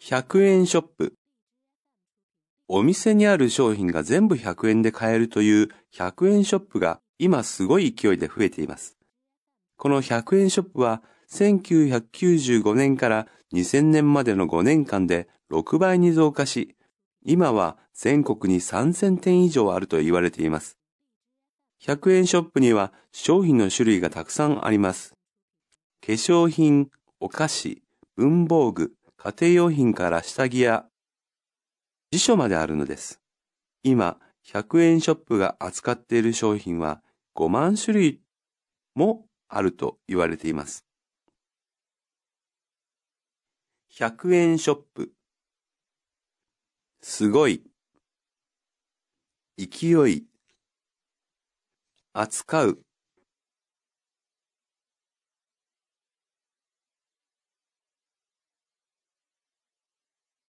100円ショップ。お店にある商品が全部100円で買えるという100円ショップが今すごい勢いで増えています。この100円ショップは1995年から2000年までの5年間で6倍に増加し、今は全国に3000店以上あると言われています。100円ショップには商品の種類がたくさんあります。化粧品、お菓子、文房具、家庭用品から下着や辞書まであるのです。今、100円ショップが扱っている商品は5万種類もあると言われています。100円ショップ。すごい。勢い。扱う。